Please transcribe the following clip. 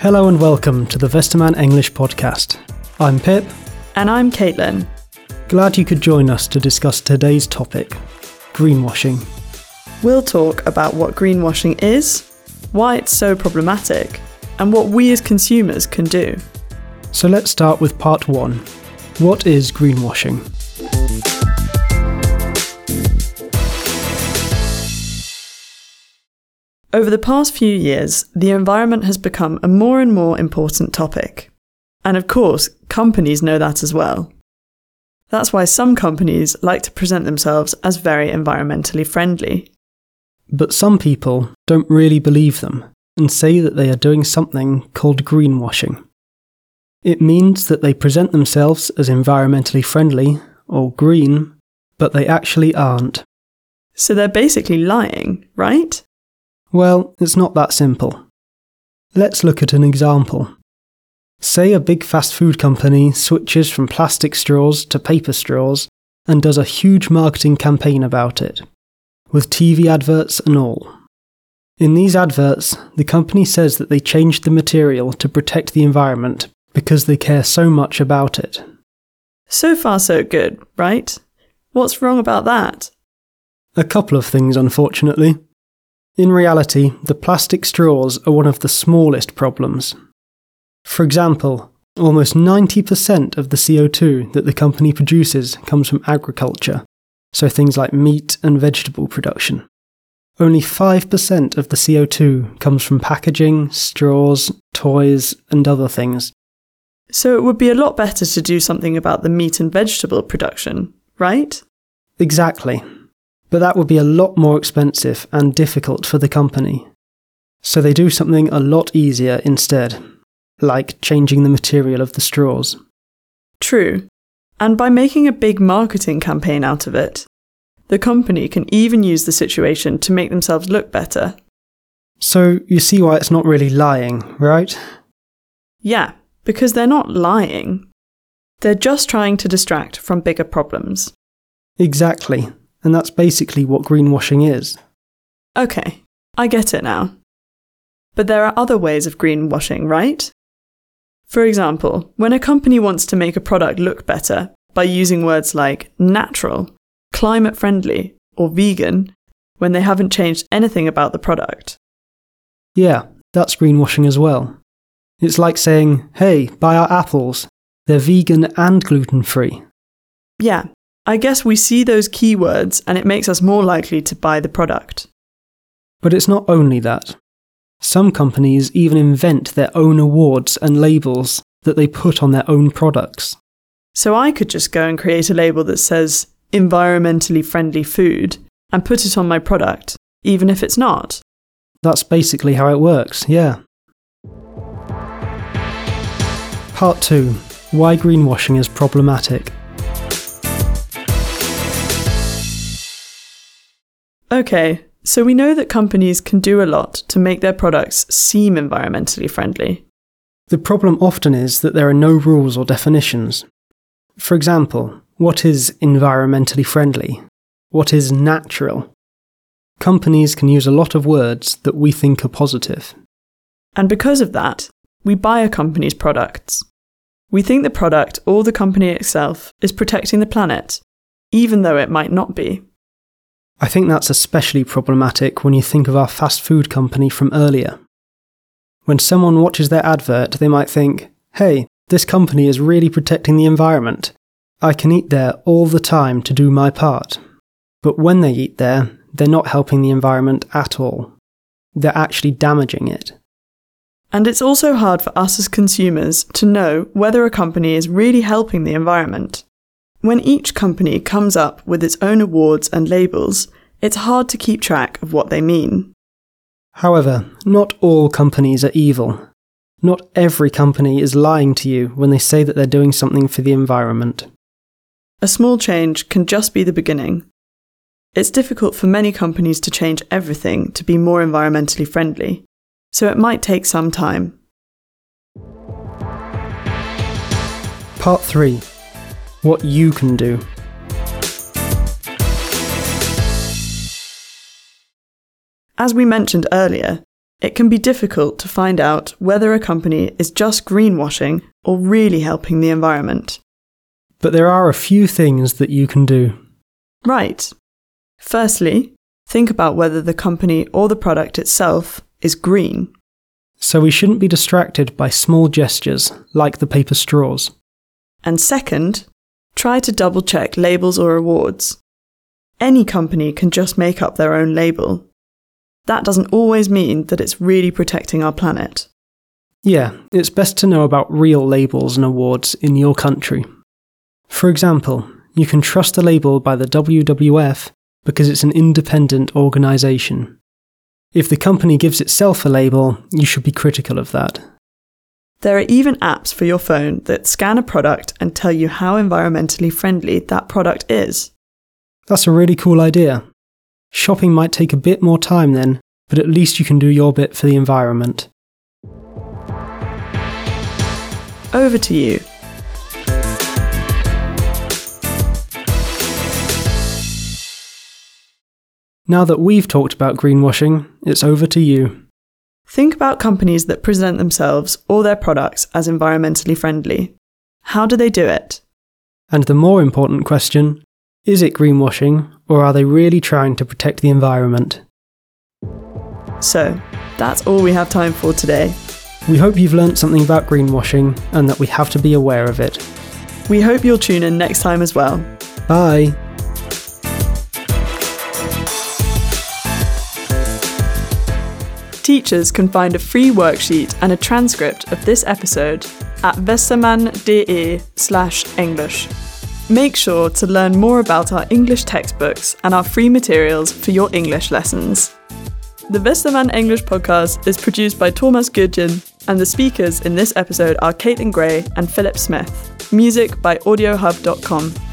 Hello and welcome to the Westermann English podcast. I'm Pip. And I'm Caitlin. Glad you could join us to discuss today's topic, greenwashing. We'll talk about what greenwashing is, why it's so problematic, and what we as consumers can do. So let's start with part 1. What is greenwashing? Over the past few years, the environment has become a more and more important topic. And of course, companies know that as well. That's why some companies like to present themselves as very environmentally friendly. But some people don't really believe them and say that they are doing something called greenwashing. It means that they present themselves as environmentally friendly or green, but they actually aren't. So they're basically lying, right? Well, it's not that simple. Let's look at an example. Say a big fast food company switches from plastic straws to paper straws and does a huge marketing campaign about it, with TV adverts and all. In these adverts, the company says that they changed the material to protect the environment because they care so much about it. So far so good, right? What's wrong about that? A couple of things, unfortunately. In reality, the plastic straws are one of the smallest problems. For example, almost 90% of the CO2 that the company produces comes from agriculture, so things like meat and vegetable production. Only 5% of the CO2 comes from packaging, straws, toys, and other things. So it would be a lot better to do something about the meat and vegetable production, right? Exactly. But that would be a lot more expensive and difficult for the company. So they do something a lot easier instead, like changing the material of the straws. True. And by making a big marketing campaign out of it, the company can even use the situation to make themselves look better. So you see why it's not really lying, right? Yeah, because they're not lying. They're just trying to distract from bigger problems. Exactly. And that's basically what greenwashing is. Okay, I get it now. But there are other ways of greenwashing, right? For example, when a company wants to make a product look better by using words like natural, climate-friendly, or vegan, when they haven't changed anything about the product. Yeah, that's greenwashing as well. It's like saying, hey, buy our apples. They're vegan and gluten-free. Yeah. I guess we see those keywords and it makes us more likely to buy the product. But it's not only that. Some companies even invent their own awards and labels that they put on their own products. So I could just go and create a label that says environmentally friendly food and put it on my product, even if it's not. That's basically how it works, yeah. Part 2. Why greenwashing is problematic. Okay, so we know that companies can do a lot to make their products seem environmentally friendly. The problem often is that there are no rules or definitions. For example, what is environmentally friendly? What is natural? Companies can use a lot of words that we think are positive. And because of that, we buy a company's products. We think the product or the company itself is protecting the planet, even though it might not be. I think that's especially problematic when you think of our fast food company from earlier. When someone watches their advert, they might think, hey, this company is really protecting the environment. I can eat there all the time to do my part. But when they eat there, they're not helping the environment at all. They're actually damaging it. And it's also hard for us as consumers to know whether a company is really helping the environment. When each company comes up with its own awards and labels, it's hard to keep track of what they mean. However, not all companies are evil. Not every company is lying to you when they say that they're doing something for the environment. A small change can just be the beginning. It's difficult for many companies to change everything to be more environmentally friendly, so it might take some time. Part 3. What you can do. As we mentioned earlier, it can be difficult to find out whether a company is just greenwashing or really helping the environment. But there are a few things that you can do. Right. Firstly, think about whether the company or the product itself is green. So we shouldn't be distracted by small gestures like the paper straws. And second, try to double-check labels or awards. Any company can just make up their own label. That doesn't always mean that it's really protecting our planet. Yeah, it's best to know about real labels and awards in your country. For example, you can trust a label by the WWF because it's an independent organisation. If the company gives itself a label, you should be critical of that. There are even apps for your phone that scan a product and tell you how environmentally friendly that product is. That's a really cool idea. Shopping might take a bit more time then, but at least you can do your bit for the environment. Over to you. Now that we've talked about greenwashing, it's over to you. Think about companies that present themselves or their products as environmentally friendly. How do they do it? And the more important question, is it greenwashing, or are they really trying to protect the environment? So, that's all we have time for today. We hope you've learnt something about greenwashing and that we have to be aware of it. We hope you'll tune in next time as well. Bye! Teachers can find a free worksheet and a transcript of this episode at westermann.de/English. Make sure to learn more about our English textbooks and our free materials for your English lessons. The Westermann English podcast is produced by Thomas Gudgen, and the speakers in this episode are Caitlin Gray and Philip Smith. Music by audiohub.com.